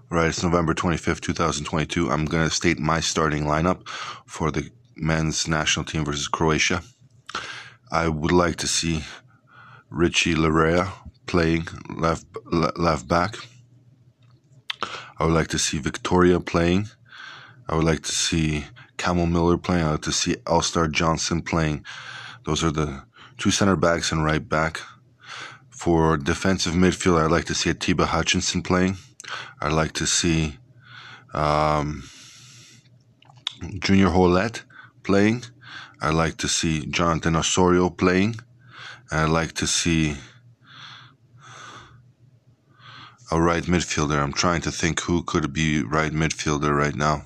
Right, it's November 25th, 2022. I'm going to state my starting lineup for the men's national team versus Croatia. I would like to see Richie Laryea playing left back. I would like to see Victoria playing. I would like to see Camel Miller playing. I would like to see Elstar Johnson playing. Those are the two center backs and right back. For defensive midfield, I'd like to see Atiba Hutchinson playing. I'd like to see Junior Hoilett playing. I'd like to see Jonathan Osorio playing. And I'd like to see a right midfielder. I'm trying to think who could be right midfielder right now.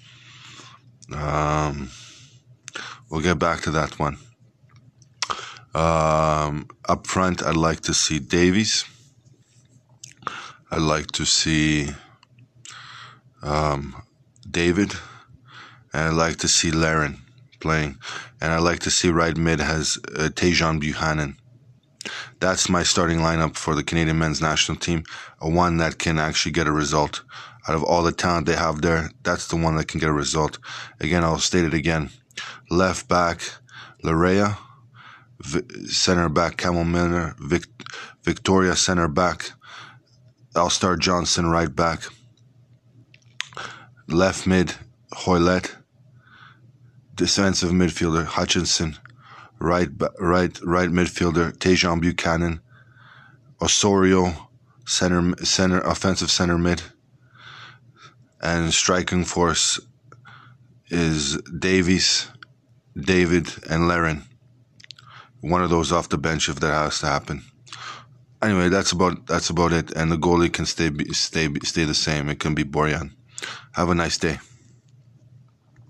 We'll get back to that one. Up front, I'd like to see Davies. I'd like to see David. And I'd like to see Larin playing. And I'd like to see right mid has Tajon Buchanan. That's my starting lineup for the Canadian men's national team. One that can actually get a result. Out of all the talent they have there, that's the one that can get a result. Again, I'll state it again. Left back, Laryea. Center back, Camel Miller. Victoria, center back. Elstar Johnson, right back. Left mid, Hoilett. Defensive midfielder, Hutchinson. Right midfielder, Tajon Buchanan. Osorio, offensive center mid. And striking force is Davies, David, and Larin. One of those off the bench if that has to happen. Anyway, that's about it. And the goalie can stay the same. It can be Borjan. Have a nice day.